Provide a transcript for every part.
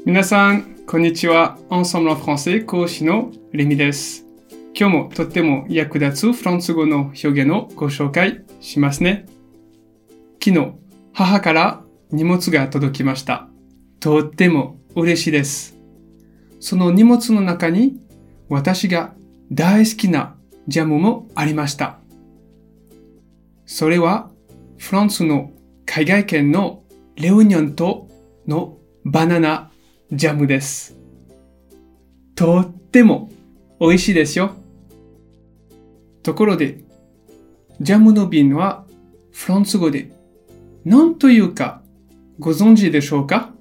皆さん、こんにちは。Ensemble en français 講師のレミです。今日もとっても役立つフランス語の表現をご紹介しますね。昨日、母から荷物が届きました。とっても嬉しいです。その荷物の中に私が大好きなジャムもありました。それはフランスの海外圏のレオニョン島のバナナジャムです。とっても美味しいですよ。ところで、ジャムの瓶はフランス語で何というかご存知でしょうか？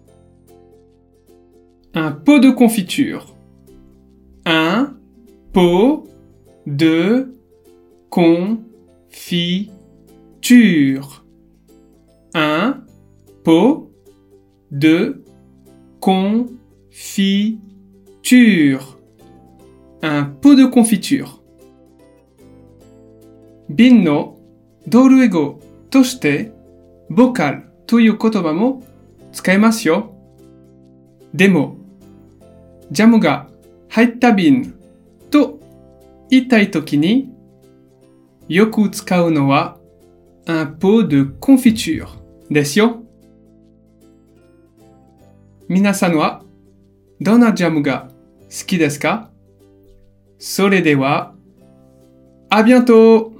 Un pot de confiture. Un pot de confiture. Un pot de confiture. Un pot de confiture. 瓶の同類語としてボカルという言葉も使えますよ。でも、ジャムが入った瓶と言いたいときによく使うのはun pot de confiture ですよ。皆さんはどんなジャムが好きですか？それでは、à bientôt!